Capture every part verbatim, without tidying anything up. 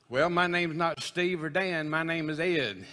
Well, my name's not Steve or Dan. My name is Ed.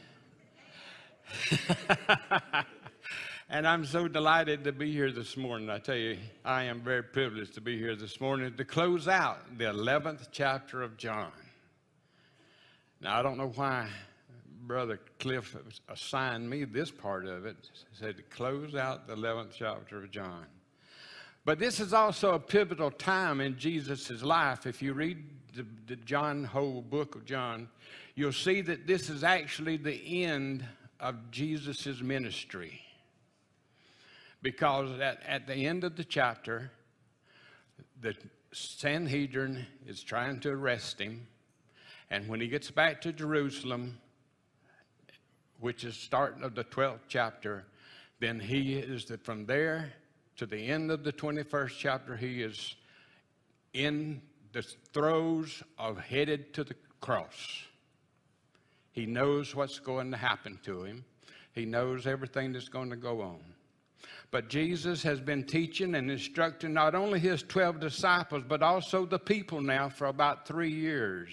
And I'm so delighted to be here this morning. I tell you, I am very privileged to be here this morning to close out the eleventh chapter of John. Now, I don't know why Brother Cliff assigned me this part of it. He said to close out the eleventh chapter of John. But this is also a pivotal time in Jesus' life. If you read the, the John, whole book of John, you'll see that this is actually the end of Jesus' ministry. Because at, at the end of the chapter, the Sanhedrin is trying to arrest him. And when he gets back to Jerusalem, which is starting of the twelfth chapter, then he is the, from there to the end of the twenty-first chapter, he is in the throes of headed to the cross. He knows what's going to happen to him. He knows everything that's going to go on. But Jesus has been teaching and instructing not only his twelve disciples, but also the people now for about three years.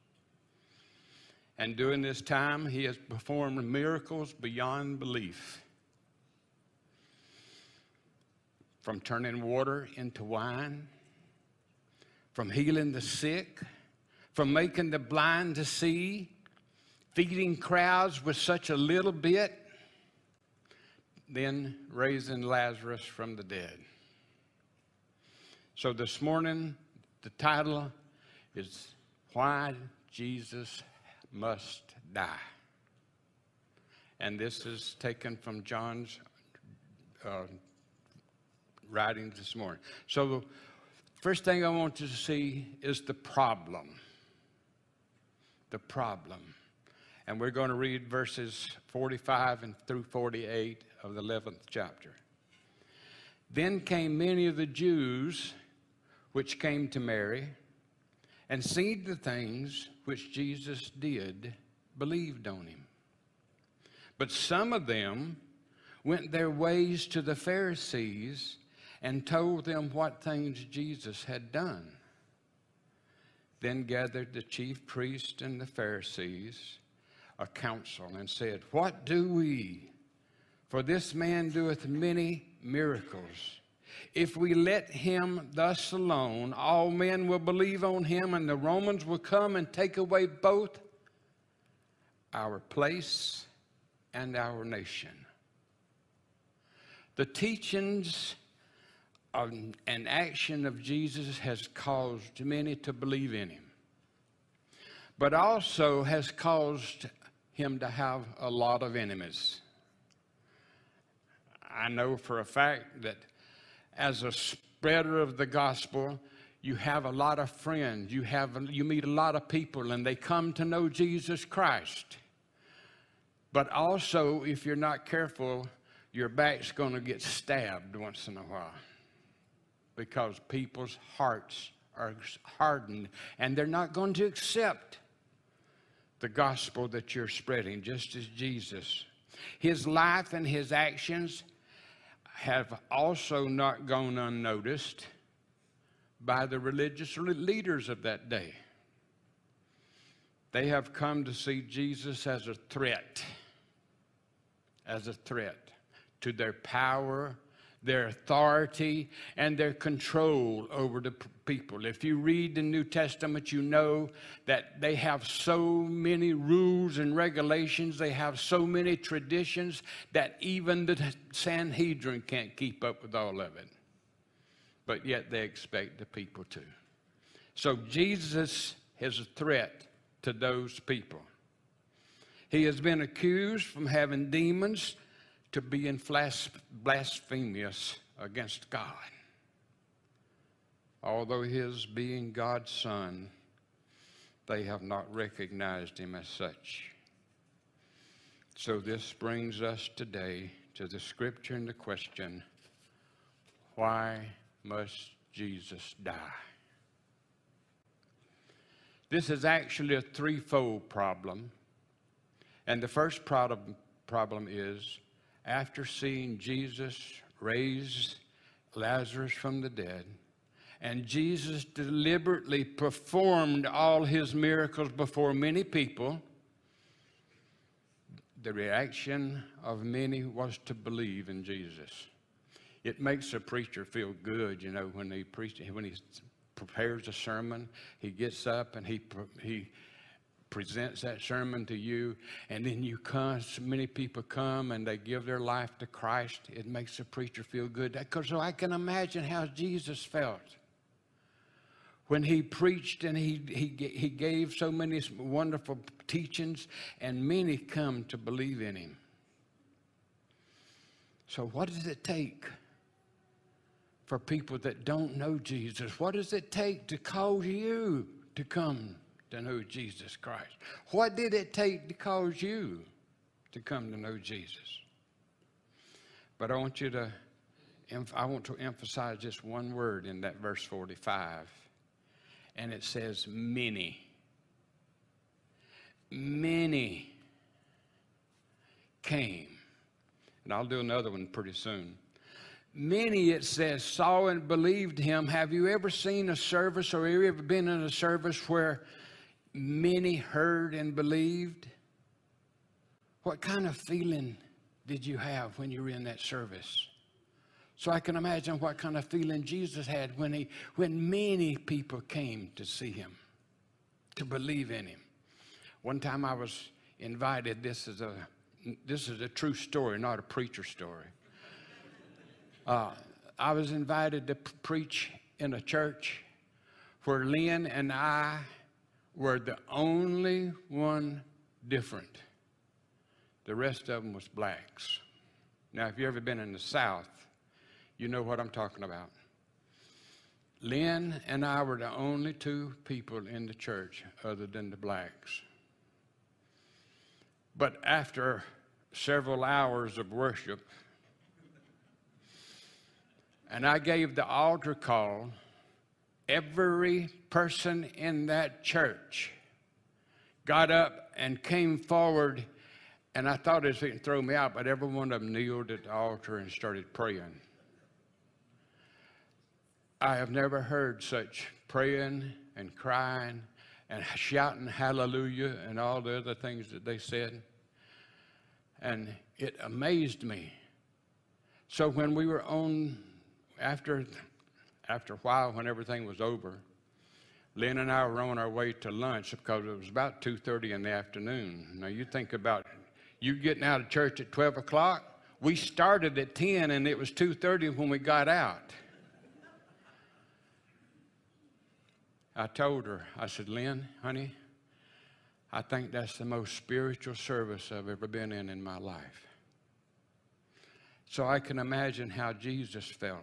And during this time, he has performed miracles beyond belief. From turning water into wine, from healing the sick, from making the blind to see, feeding crowds with such a little bit, then raising Lazarus from the dead. So this morning, the title is Why Jesus Must Die. And this is taken from John's uh, writing this morning. So the first thing I want you to see is the problem. The problem. And we're going to read verses forty-five and through forty-eight of the eleventh chapter. Then came many of the Jews which came to Mary, and seeing the things which Jesus did, believed on him. But some of them went their ways to the Pharisees and told them what things Jesus had done. Then gathered the chief priests and the Pharisees a council and said, What do we? For this man doeth many miracles. If we let him thus alone, all men will believe on him, and the Romans will come and take away both our place and our nation. The teachings of, and action of Jesus has caused many to believe in him, but also has caused him to have a lot of enemies. I know for a fact that as a spreader of the gospel, you have a lot of friends. You have, you meet a lot of people, and they come to know Jesus Christ. But also, if you're not careful, your back's going to get stabbed once in a while, because people's hearts are hardened, and they're not going to accept the gospel that you're spreading, just as Jesus. His life and his actions have also not gone unnoticed by the religious leaders of that day. They have come to see Jesus as a threat, as a threat to their power, their authority, and their control over the people. If you read the New Testament, you know that they have so many rules and regulations, they have so many traditions that even the Sanhedrin can't keep up with all of it. But yet they expect the people to. So Jesus is a threat to those people. He has been accused from having demons to being blasphemous against God. Although his being God's son, they have not recognized him as such. So this brings us today to the scripture and the question, why must Jesus die? This is actually a threefold problem. And the first problem, problem is, after seeing Jesus raise Lazarus from the dead, And Jesus deliberately performed all his miracles before many people. The reaction of many was to believe in Jesus. It makes a preacher feel good, you know, when he preaches, when he prepares a sermon, he gets up and he he presents that sermon to you, and then you come, so many people come and they give their life to Christ. It makes a preacher feel good. Because so I can imagine how Jesus felt when he preached and he, he, he gave so many wonderful teachings, and many come to believe in him. So what does it take for people that don't know Jesus? What does it take to cause you to come to know Jesus Christ? What did it take to cause you to come to know Jesus? But I want you to, I want to emphasize just one word in that verse forty-five. And it says many. Many came. And I'll do another one pretty soon. Many, it says, saw and believed him. Have you ever seen a service, or have you ever been in a service where many heard and believed? What kind of feeling did you have when you were in that service? So I can imagine what kind of feeling Jesus had when he, when many people came to see him, to believe in him. One time I was invited. This is a this is a true story, not a preacher story. Uh, I was invited to p- preach in a church where Lynn and I were the only one different. The rest of them was blacks. Now, if you've ever been in the South, you know what I'm talking about. Lynn and I were the only two people in the church other than the blacks. But after several hours of worship, and I gave the altar call, every person in that church got up and came forward, and I thought it would throw me out, but every one of them kneeled at the altar and started praying. I have never heard such praying and crying and shouting hallelujah and all the other things that they said. And it amazed me. So when we were on, after, after a while, when everything was over, Lynn and I were on our way to lunch because it was about two thirty in the afternoon. Now you think about you getting out of church at twelve o'clock. We started at ten and it was two thirty when we got out. I told her, I said, Lynn, honey, I think that's the most spiritual service I've ever been in in my life. So I can imagine how Jesus felt.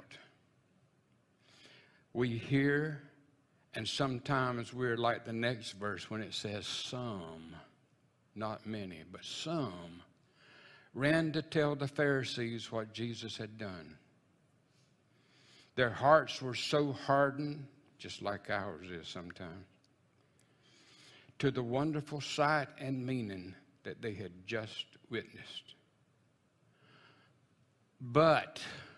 We hear, and sometimes we're like the next verse when it says some, not many, but some, ran to tell the Pharisees what Jesus had done. Their hearts were so hardened, just like ours is sometimes, to the wonderful sight and meaning that they had just witnessed. But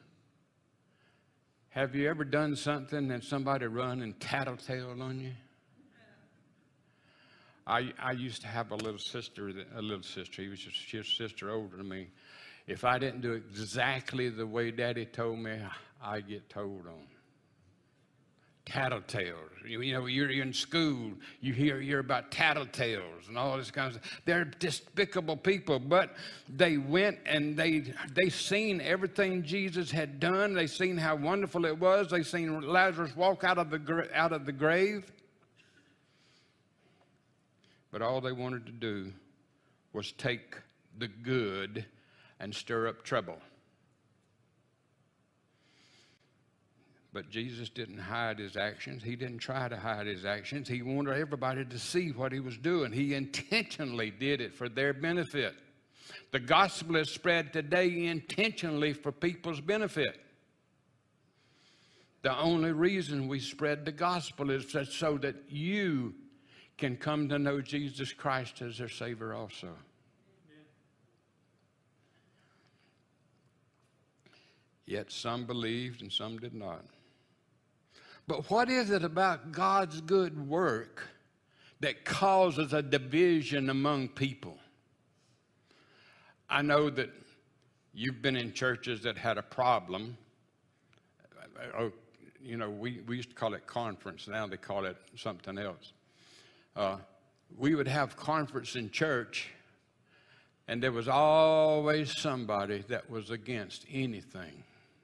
have you ever done something and somebody run and tattletale on you? I I used to have a little sister, a little sister. He was just his sister older than me. If I didn't do exactly the way Daddy told me, I get told on. Tattletales. You, you know, you're, you're in school, you hear you're about tattletales and all this kind of stuff. They're despicable people, but they went and they they seen everything Jesus had done. They seen how wonderful it was. They seen Lazarus walk out of the out of the grave. But all they wanted to do was take the good and stir up trouble. But Jesus didn't hide his actions. He didn't try to hide his actions. He wanted everybody to see what he was doing. He intentionally did it for their benefit. The gospel is spread today intentionally for people's benefit. The only reason we spread the gospel is so that you can come to know Jesus Christ as their Savior also. Yet some believed and some did not. But what is it about God's good work that causes a division among people? I know that you've been in churches that had a problem. Oh, you know, we, we used to call it conference. Now they call it something else. Uh, we would have conference in church, and there was always somebody that was against anything.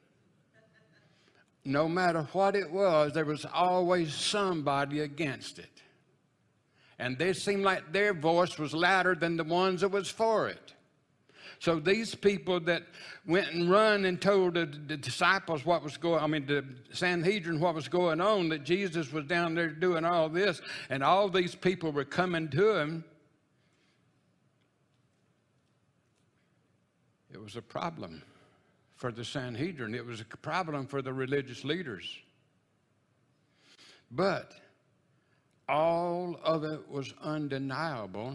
No matter what it was, there was always somebody against it. And they seemed like their voice was louder than the ones that was for it. So these people that went and run and told the, the disciples what was going, I mean the Sanhedrin what was going on, that Jesus was down there doing all this, and all these people were coming to him, it was a problem for the Sanhedrin. It was a problem for the religious leaders. But all of it was undeniable,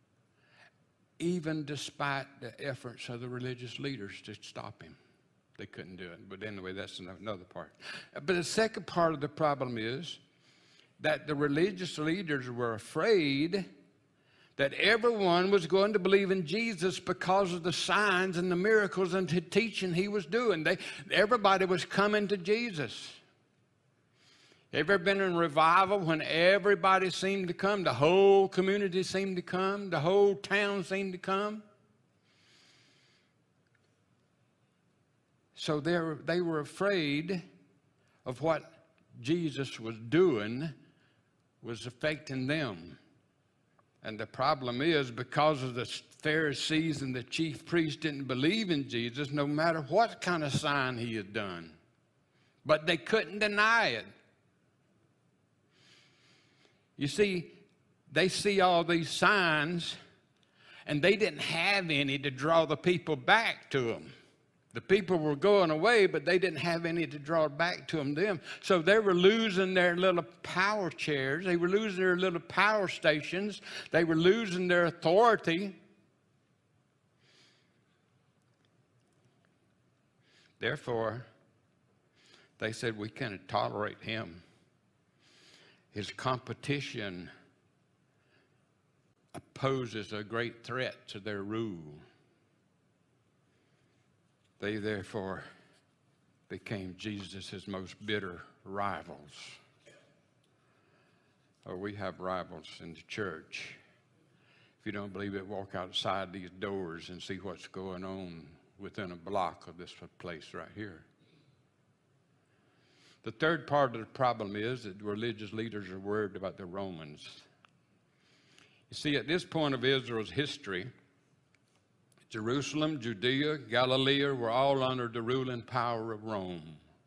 even despite the efforts of the religious leaders to stop him. They couldn't do it. But anyway, that's another part. But the second part of the problem is that the religious leaders were afraid that everyone was going to believe in Jesus because of the signs and the miracles and the teaching he was doing. They, everybody was coming to Jesus. Ever been in revival when everybody seemed to come? The whole community seemed to come. The whole town seemed to come. So they were, they were afraid of what Jesus was doing was affecting them. And the problem is, because of the Pharisees and the chief priests didn't believe in Jesus, no matter what kind of sign he had done. But they couldn't deny it. You see, they see all these signs, and they didn't have any to draw the people back to them. The people were going away, but they didn't have any to draw back to them. them. So they were losing their little power chairs. They were losing their little power stations. They were losing their authority. Therefore, they said, we can't tolerate him. His competition poses a great threat to their rule. They therefore became Jesus' most bitter rivals. Oh, we have rivals in the church. If you don't believe it, walk outside these doors and see what's going on within a block of this place right here. The third part of the problem is that religious leaders are worried about the Romans. You see, at this point of Israel's history, Jerusalem, Judea, Galilee were all under the ruling power of Rome.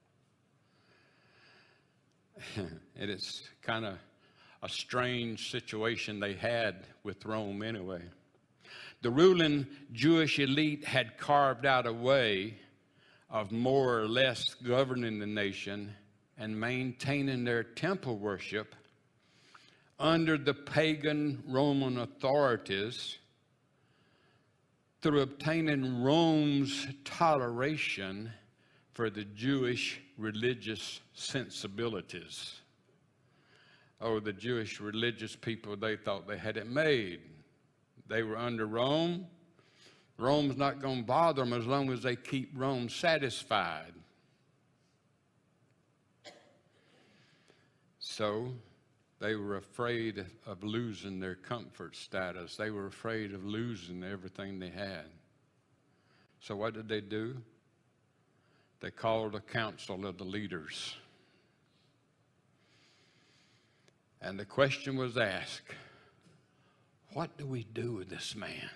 And it's kind of a strange situation they had with Rome anyway. The ruling Jewish elite had carved out a way of more or less governing the nation and maintaining their temple worship under the pagan Roman authorities through obtaining Rome's toleration for the Jewish religious sensibilities. Oh, the Jewish religious people, they thought they had it made. They were under Rome. Rome's not going to bother them as long as they keep Rome satisfied. So they were afraid of losing their comfort status. They were afraid of losing everything they had. So what did they do? They called a council of the leaders. And the question was asked, what do we do with this man?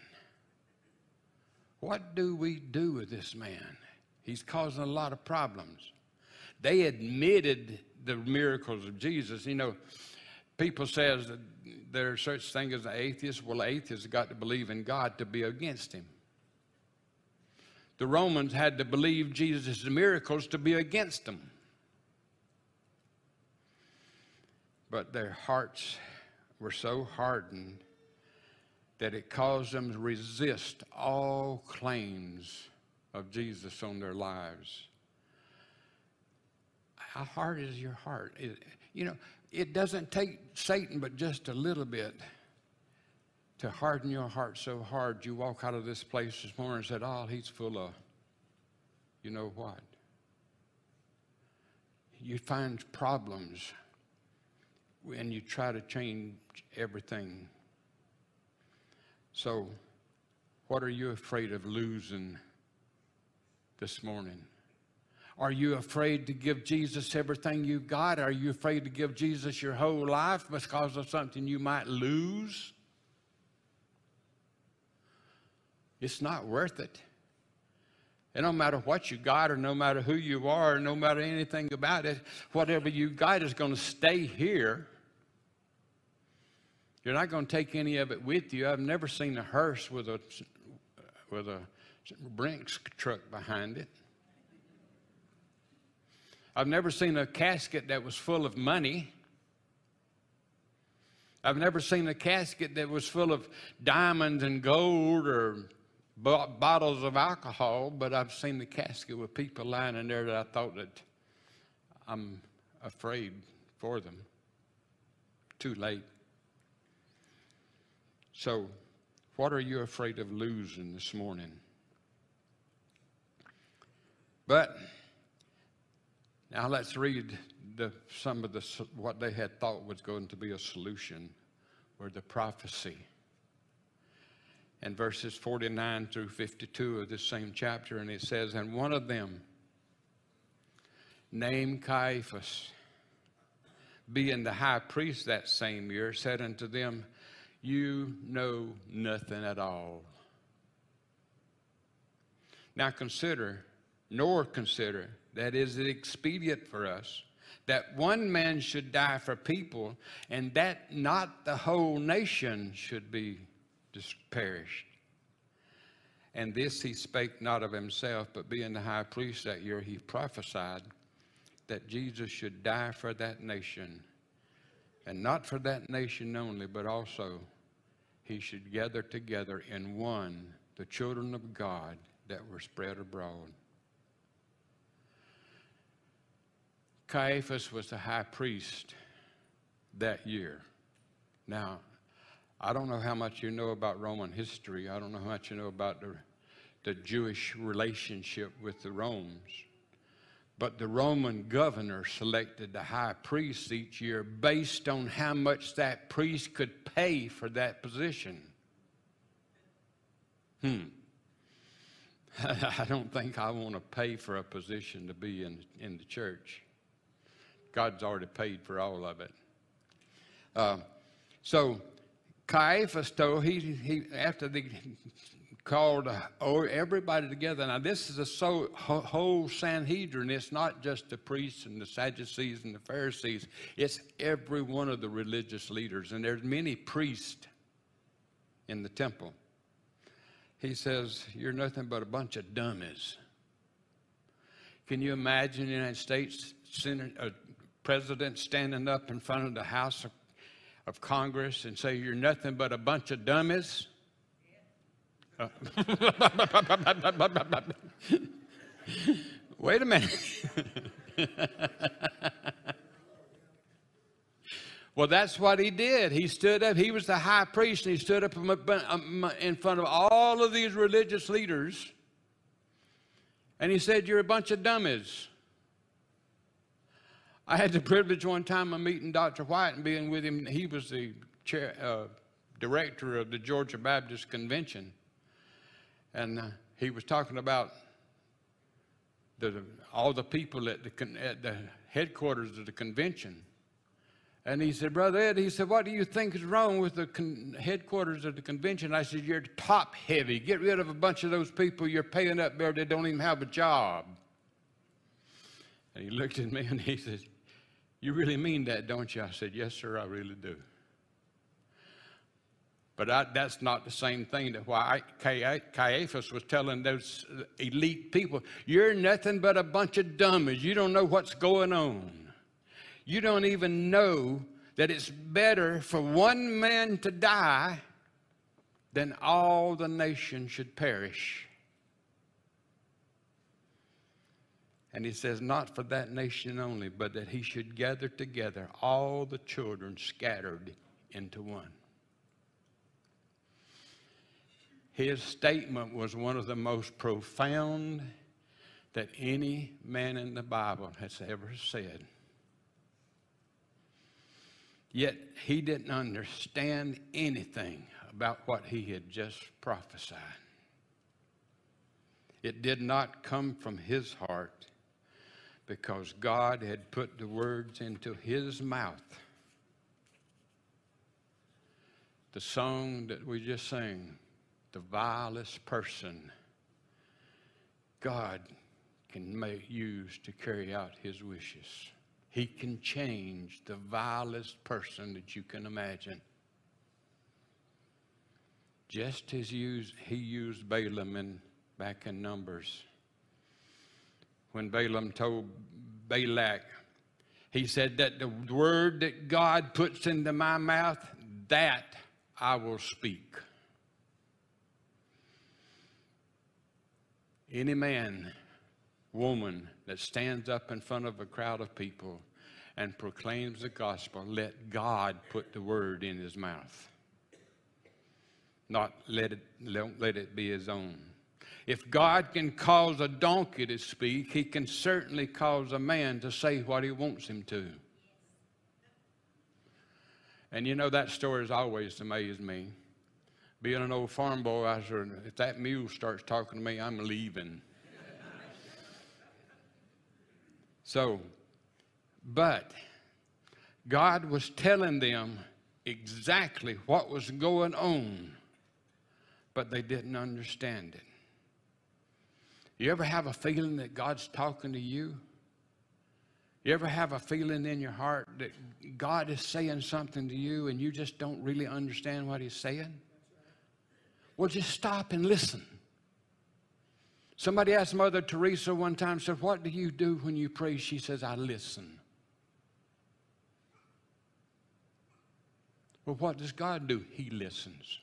What do we do with this man? He's causing a lot of problems. They admitted the miracles of Jesus. You know, people says that there's such thing as an atheist. Well, atheists got to believe in God to be against him. The Romans had to believe Jesus' miracles to be against them. But their hearts were so hardened that it caused them to resist all claims of Jesus on their lives. How hard is your heart? It, you know, it doesn't take Satan but just a little bit to harden your heart so hard you walk out of this place this morning and said, oh, he's full of, you know what? You find problems when you try to change everything. So, what are you afraid of losing this morning? Are you afraid to give Jesus everything you've got? Are you afraid to give Jesus your whole life because of something you might lose? It's not worth it. It don't matter what you got or no matter who you are or no matter anything about it. Whatever you got is going to stay here. You're not going to take any of it with you. I've never seen a hearse with a, with a Brinks truck behind it. I've never seen a casket that was full of money. I've never seen a casket that was full of diamonds and gold or bo- bottles of alcohol, but I've seen the casket with people lying in there that I thought that I'm afraid for them. Too late. So, what are you afraid of losing this morning? But now let's read the, some of the, what they had thought was going to be a solution, or the prophecy. In verses forty-nine through fifty-two of this same chapter, and it says, and one of them, named Caiaphas, being the high priest that same year, said unto them, you know nothing at all. Now consider, nor consider, that is it expedient for us that one man should die for people, and that not the whole nation should be just perished. And this he spake not of himself, but being the high priest that year, he prophesied that Jesus should die for that nation, and not for that nation only, but also he should gather together in one the children of God that were spread abroad. Caiaphas was the high priest that year. Now, I don't know how much you know about Roman history. I don't know how much you know about the, the Jewish relationship with the Romans. But the Roman governor selected the high priest each year based on how much that priest could pay for that position. Hmm. I don't think I want to pay for a position to be in, in the church. God's already paid for all of it. Uh, so Caiaphas told, he, he, after they called uh, everybody together. Now this is a so, whole Sanhedrin. It's not just the priests and the Sadducees and the Pharisees. It's every one of the religious leaders. And there's many priests in the temple. He says, you're nothing but a bunch of dummies. Can you imagine the United States Senate, uh, president standing up in front of the House of, of Congress and say, you're nothing but a bunch of dummies? Uh, wait a minute. Well, that's what he did. He stood up. He was the high priest, and he stood up in front of all of these religious leaders, and he said, you're a bunch of dummies. I had the privilege one time of meeting Doctor White and being with him. He was the chair, uh, director of the Georgia Baptist Convention. And uh, he was talking about the, all the people at the, at the headquarters of the convention. And he said, Brother Ed, he said, what do you think is wrong with the con headquarters of the convention? I said, you're top heavy. Get rid of a bunch of those people you're paying up there that don't even have a job. And he looked at me and he said, you really mean that, don't you? I said, yes, sir, I really do. But I, that's not the same thing that why I, Caiaphas was telling those elite people, you're nothing but a bunch of dummies. You don't know what's going on. You don't even know that it's better for one man to die than all the nation should perish. And he says, not for that nation only, but that he should gather together all the children scattered into one. His statement was one of the most profound that any man in the Bible has ever said. Yet he didn't understand anything about what he had just prophesied. It did not come from his heart, because God had put the words into his mouth. The song that we just sang, the vilest person, God can make, use to carry out his wishes. He can change the vilest person that you can imagine. Just as used, he used Balaam in, back in Numbers. When Balaam told Balak, he said that the word that God puts into my mouth, that I will speak. Any man, woman that stands up in front of a crowd of people and proclaims the gospel, let God put the word in his mouth. Not let it, don't let it be his own. If God can cause a donkey to speak, he can certainly cause a man to say what he wants him to. And you know, that story has always amazed me. Being an old farm boy, I said, if that mule starts talking to me, I'm leaving. So, but God was telling them exactly what was going on, but they didn't understand it. You ever have a feeling that God's talking to you? You ever have a feeling in your heart that God is saying something to you and you just don't really understand what he's saying? Well, just stop and listen. Somebody asked Mother Teresa one time, said, what do you do when you pray? She says, I listen. Well, what does God do? He listens.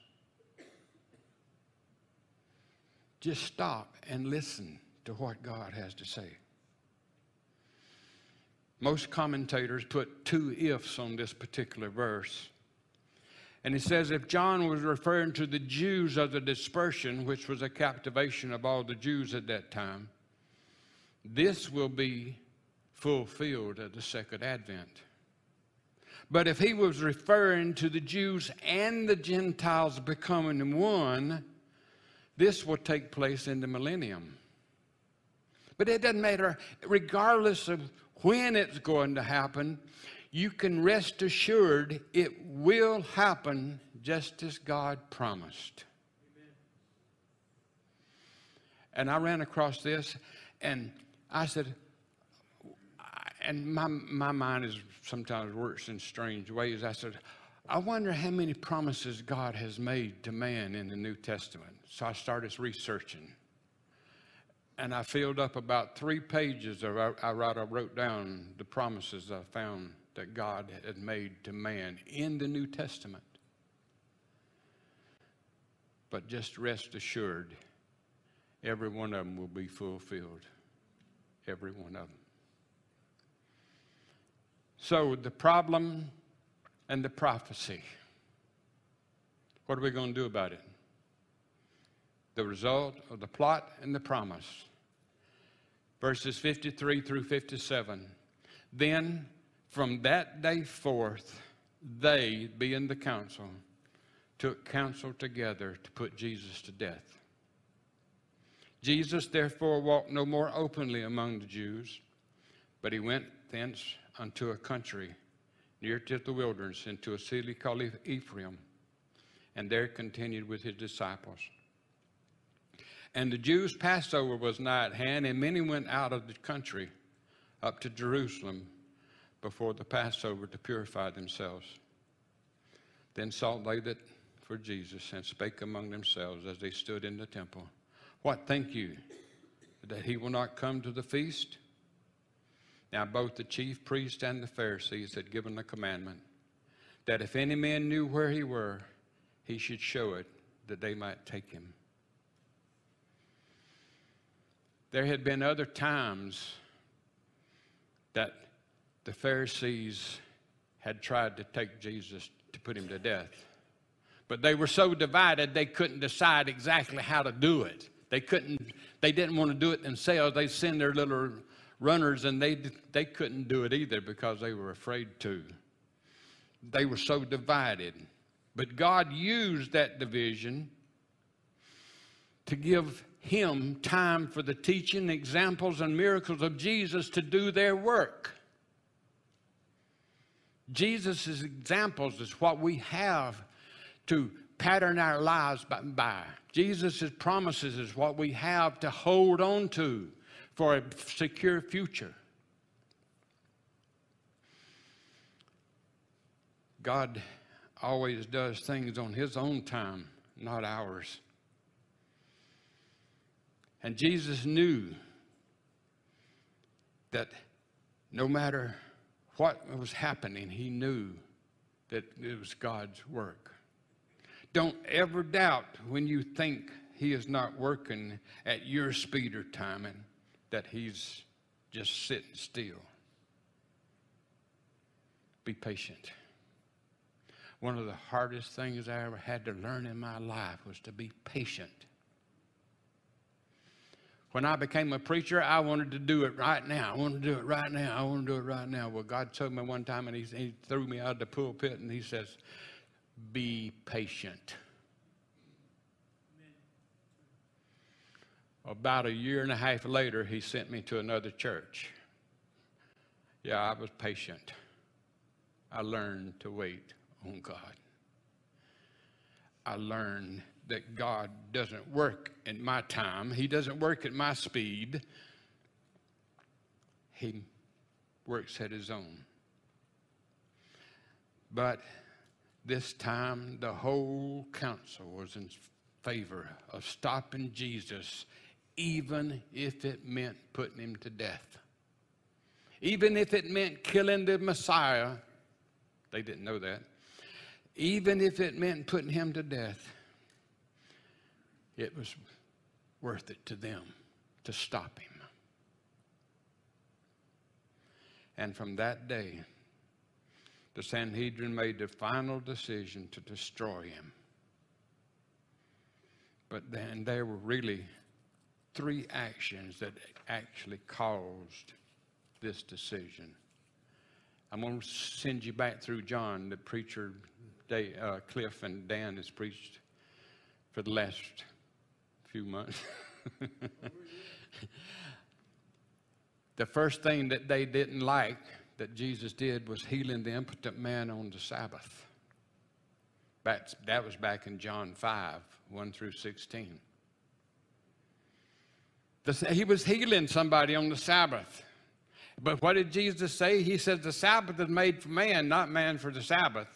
Just stop and listen to what God has to say. Most commentators put two ifs on this particular verse. And he says if John was referring to the Jews of the dispersion, which was a captivation of all the Jews at that time, this will be fulfilled at the second advent. But if he was referring to the Jews and the Gentiles becoming one, this will take place in the millennium. But it doesn't matter. Regardless of when it's going to happen, you can rest assured it will happen just as God promised. Amen. And I ran across this, and I said, and my, my mind is sometimes works in strange ways. I said, I wonder how many promises God has made to man in the New Testament. So I started researching. And I filled up about three pages. Of, I, I wrote down the promises I found that God had made to man in the New Testament. But just rest assured, every one of them will be fulfilled. Every one of them. So the problem and the prophecy. What are we going to do about it? The result of the plot and the promise. Verses fifty-three through fifty-seven. Then from that day forth, they, being the council, took counsel together to put Jesus to death. Jesus therefore walked no more openly among the Jews, but he went thence unto a country near to the wilderness, into a city called Ephraim, and there continued with his disciples. And the Jews' Passover was nigh at hand, and many went out of the country up to Jerusalem before the Passover to purify themselves. Then sought they that for Jesus, and spake among themselves as they stood in the temple, what think you, that he will not come to the feast? Now both the chief priests and the Pharisees had given a commandment, that if any man knew where he were, he should show it, that they might take him. There had been other times that the Pharisees had tried to take Jesus to put him to death. But they were so divided they couldn't decide exactly how to do it. They couldn't, they didn't want to do it themselves. They send their little runners, and they, they couldn't do it either because they were afraid to. They were so divided. But God used that division to give him time for the teaching, examples, and miracles of Jesus to do their work. Jesus' examples is what we have to pattern our lives by. Jesus' promises is what we have to hold on to for a secure future. God always does things on his own time, not ours. And Jesus knew that no matter what was happening, he knew that it was God's work. Don't ever doubt when you think he is not working at your speed or timing that he's just sitting still. Be patient. One of the hardest things I ever had to learn in my life was to be patient. When I became a preacher, I wanted to do it right now. I wanted to do it right now. I want to do it right now. Well, God told me one time, and he, he threw me out of the pulpit, and he says, be patient. Amen. About a year and a half later, he sent me to another church. Yeah, I was patient. I learned to wait on God. I learned that God doesn't work in my time. He doesn't work at my speed. He works at his own. But this time, the whole council was in favor of stopping Jesus, even if it meant putting him to death. Even if it meant killing the Messiah. They didn't know that. Even if it meant putting him to death, it was worth it to them to stop him. And from that day, the Sanhedrin made the final decision to destroy him. But then there were really three actions that actually caused this decision. I'm going to send you back through John. The preacher, they, uh, Cliff and Dan, has preached for the last few months. The first thing that they didn't like that Jesus did was healing the impotent man on the Sabbath. Back, that was back in John five, one through sixteen. The, he was healing somebody on the Sabbath. But what did Jesus say? He said the Sabbath is made for man, not man for the Sabbath.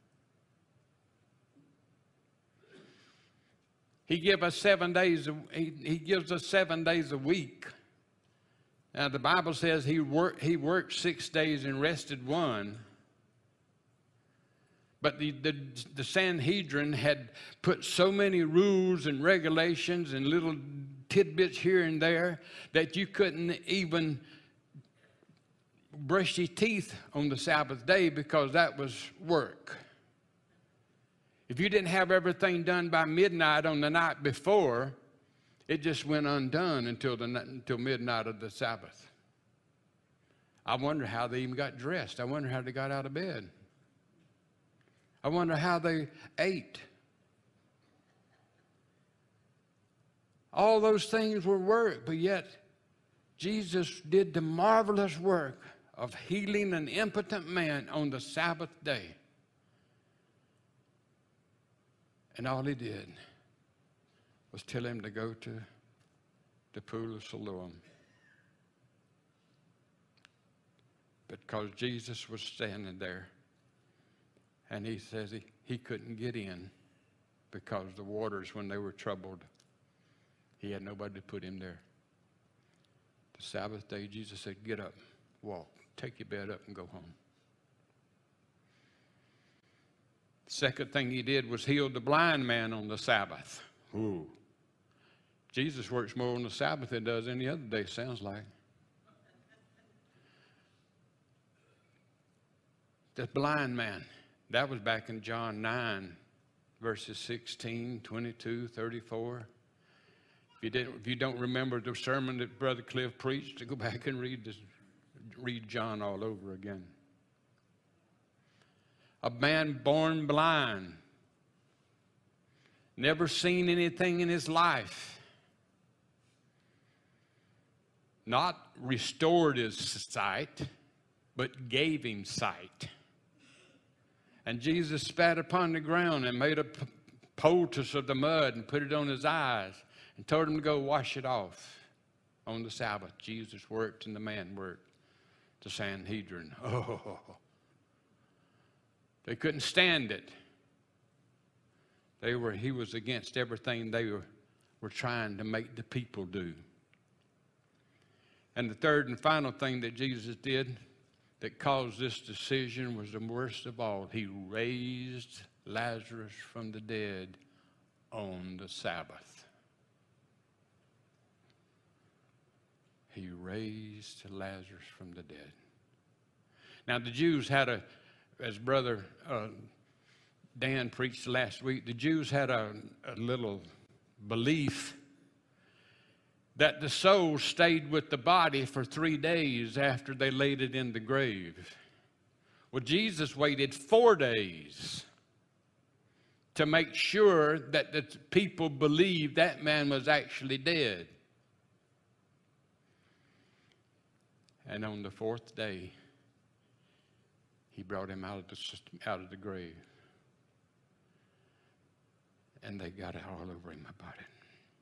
He gives us seven days. He, he gives us seven days a week. Now the Bible says he worked. He worked six days and rested one. But the, the the Sanhedrin had put so many rules and regulations and little tidbits here and there that you couldn't even brush your teeth on the Sabbath day because that was work. If you didn't have everything done by midnight on the night before, it just went undone until, the, until midnight of the Sabbath. I wonder how they even got dressed. I wonder how they got out of bed. I wonder how they ate. All those things were work, but yet Jesus did the marvelous work of healing an impotent man on the Sabbath day. And all he did was tell him to go to the pool of Siloam. Because Jesus was standing there, and he says he, he couldn't get in because the waters, when they were troubled, he had nobody to put him there. The Sabbath day, Jesus said, get up, walk, take your bed up and go home. The second thing he did was heal the blind man on the Sabbath. Ooh. Jesus works more on the Sabbath than he does any other day, sounds like. the blind man. That was back in John nine, verses sixteen, twenty-two, thirty-four. If you, didn't, if you don't remember the sermon that Brother Cliff preached, go back and read, this, read John all over again. A man born blind, never seen anything in his life, not restored his sight, but gave him sight. And Jesus spat upon the ground and made a poultice of the mud and put it on his eyes and told him to go wash it off on the Sabbath. Jesus worked and the man worked. The Sanhedrin. Oh, they couldn't stand it. They were, he was against everything they were, were trying to make the people do. And the third and final thing that Jesus did that caused this decision was the worst of all. He raised Lazarus from the dead on the Sabbath. He raised Lazarus from the dead. Now the Jews had a, as Brother uh, Dan preached last week, the Jews had a, a little belief that the soul stayed with the body for three days after they laid it in the grave. Well, Jesus waited four days to make sure that the people believed that man was actually dead. And on the fourth day, he brought him out of the, out of the grave. And they got it all over him about it.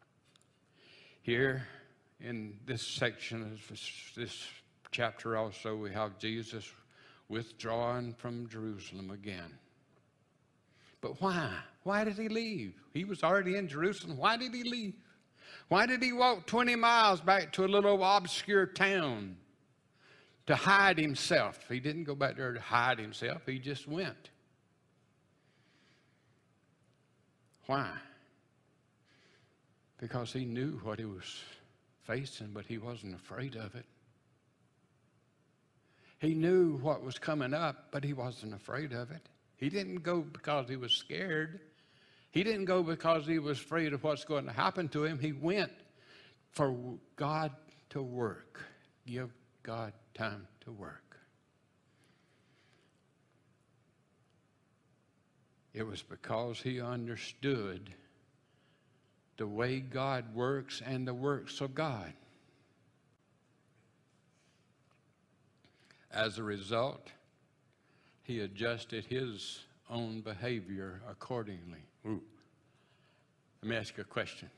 Here in this section of this, this chapter also, we have Jesus withdrawing from Jerusalem again. But why? Why did he leave? He was already in Jerusalem. Why did he leave? Why did he walk twenty miles back to a little obscure town to hide himself? He didn't go back there to hide himself. He just went. Why? Because he knew what he was facing, but he wasn't afraid of it. He knew what was coming up, but he wasn't afraid of it. He didn't go because he was scared. He didn't go because he was afraid of what's going to happen to him. He went for God to work. Give God time to work. It was because he understood the way God works and the works of God. As a result, he adjusted his own behavior accordingly. Ooh. Let me ask you a question.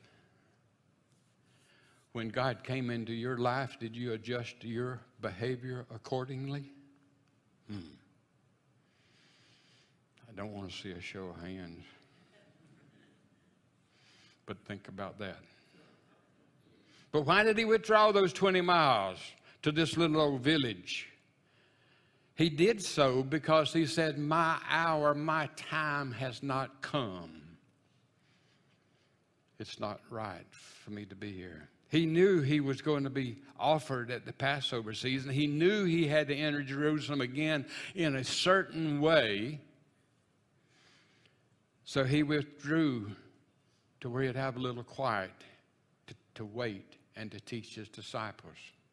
When God came into your life, did you adjust your behavior accordingly? Hmm. I don't want to see a show of hands. But think about that. But why did he withdraw those twenty miles to this little old village? He did so because he said, my hour, my time has not come. It's not right for me to be here. He knew he was going to be offered at the Passover season. He knew he had to enter Jerusalem again in a certain way. So he withdrew to where he'd have a little quiet to, to wait and to teach his disciples.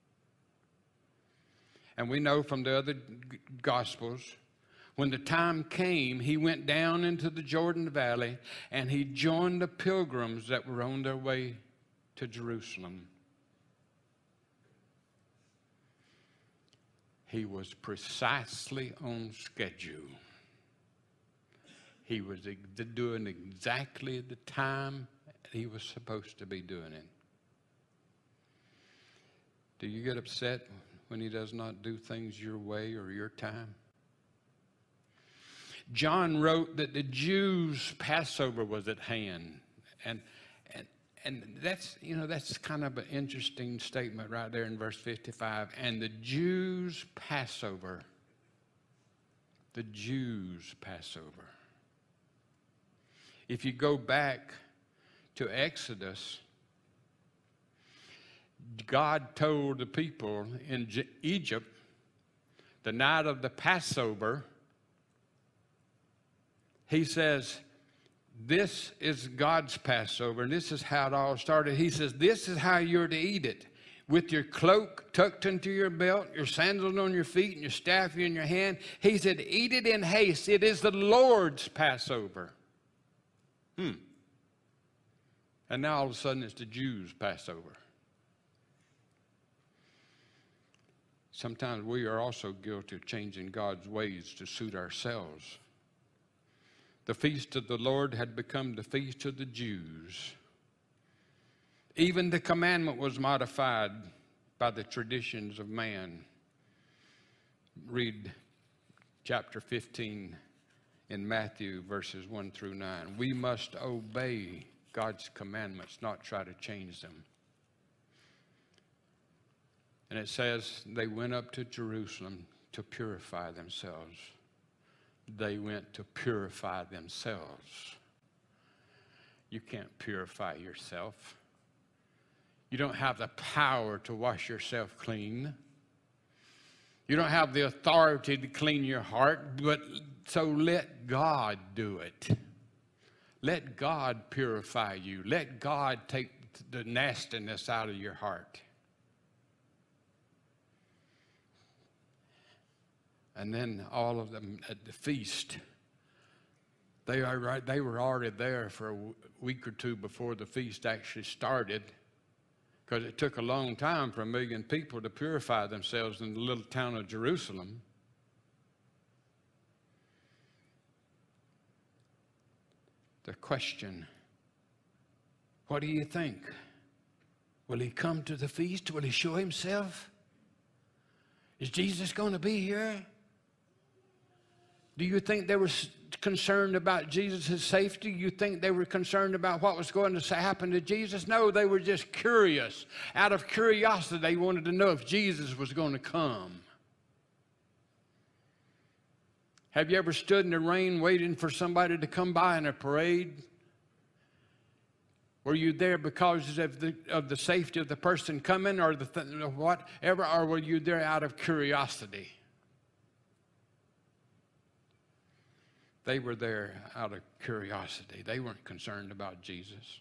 And we know from the other Gospels, when the time came, he went down into the Jordan Valley and he joined the pilgrims that were on their way to Jerusalem. He was precisely on schedule. He was doing exactly the time he was supposed to be doing it. Do you get upset when he does not do things your way or your time? John wrote that the Jews' Passover was at hand. And, and, and that's, you know, that's kind of an interesting statement right there in verse fifty-five. And the Jews' Passover. The Jews' Passover. If you go back to Exodus, God told the people in Egypt, the night of the Passover, he says, this is God's Passover, and this is how it all started. He says, this is how you're to eat it. With your cloak tucked into your belt, your sandals on your feet, and your staff in your hand. He said, eat it in haste. It is the Lord's Passover. Hmm. And now all of a sudden it's the Jews' Passover. Sometimes we are also guilty of changing God's ways to suit ourselves. The feast of the Lord had become the feast of the Jews. Even the commandment was modified by the traditions of man. Read chapter fifteen in Matthew, verses one through nine. We must obey God's commandments, not try to change them. And it says they went up to Jerusalem to purify themselves. They went to purify themselves. You can't purify yourself. You don't have the power to wash yourself clean. You don't have the authority to clean your heart, but so let God do it. Let God purify you. Let God take the nastiness out of your heart. And then all of them at the feast, they are right. They were already there for a week or two before the feast actually started, because it took a long time for a million people to purify themselves in the little town of Jerusalem. The question, what do you think? Will he come to the feast? Will he show himself? Is Jesus going to be here? Do you think they were concerned about Jesus' safety? You think they were concerned about what was going to happen to Jesus? No, they were just curious. Out of curiosity, they wanted to know if Jesus was going to come. Have you ever stood in the rain waiting for somebody to come by in a parade? Were you there because of the, of the safety of the person coming, or the th whatever, or were you there out of curiosity? They were there out of curiosity. They weren't concerned about Jesus.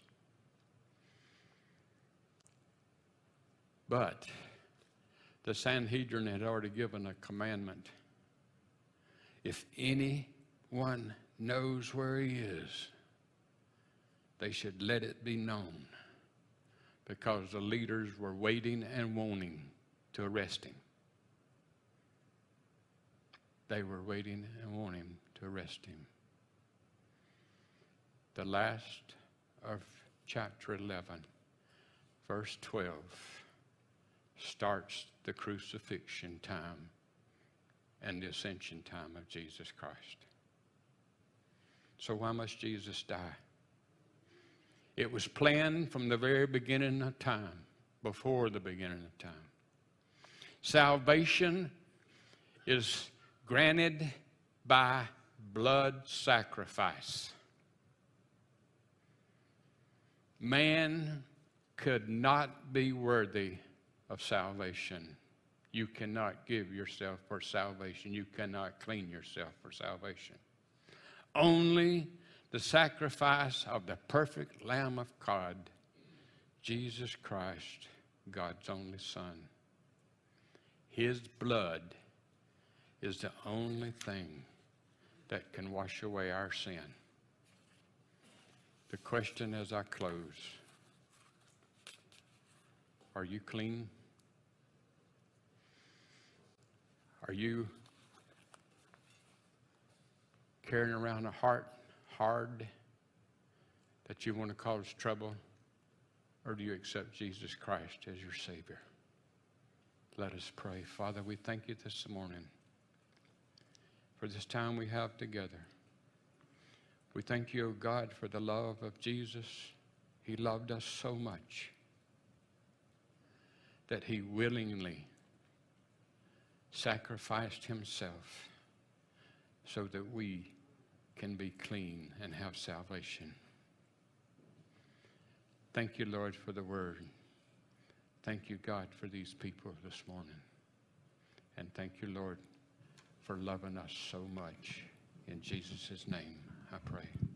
But the Sanhedrin had already given a commandment. If anyone knows where he is, they should let it be known, because the leaders were waiting and wanting to arrest him. They were waiting and wanting to arrest him. The last of chapter eleven, verse twelve, starts the crucifixion time and the ascension time of Jesus Christ. So why must Jesus die? It was planned from the very beginning of time, before the beginning of time. Salvation is granted by blood sacrifice. Man could not be worthy of salvation. You cannot give yourself for salvation. You cannot clean yourself for salvation. Only the sacrifice of the perfect Lamb of God, Jesus Christ, God's only Son. His blood is the only thing that can wash away our sin. The question as I close, are you clean? Are you carrying around a heart hard that you want to cause trouble? Or do you accept Jesus Christ as your Savior? Let us pray. Father, we thank you this morning for this time we have together. We thank you, O God, for the love of Jesus. He loved us so much that he willingly sacrificed himself so that we can be clean and have salvation. Thank you, Lord, for the word. Thank you, God, for these people this morning. And thank you, Lord, for loving us so much. In Jesus' name. I pray.